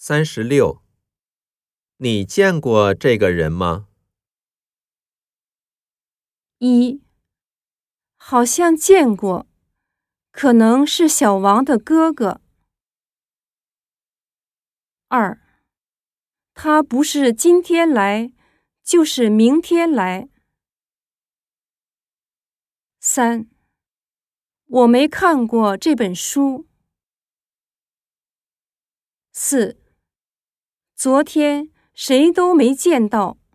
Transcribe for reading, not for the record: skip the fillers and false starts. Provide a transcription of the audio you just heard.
36，你见过这个人吗 ？1，好像见过，可能是小王的哥哥。2，他不是今天来，就是明天来。3，我没看过这本书。4，昨天谁都没见到。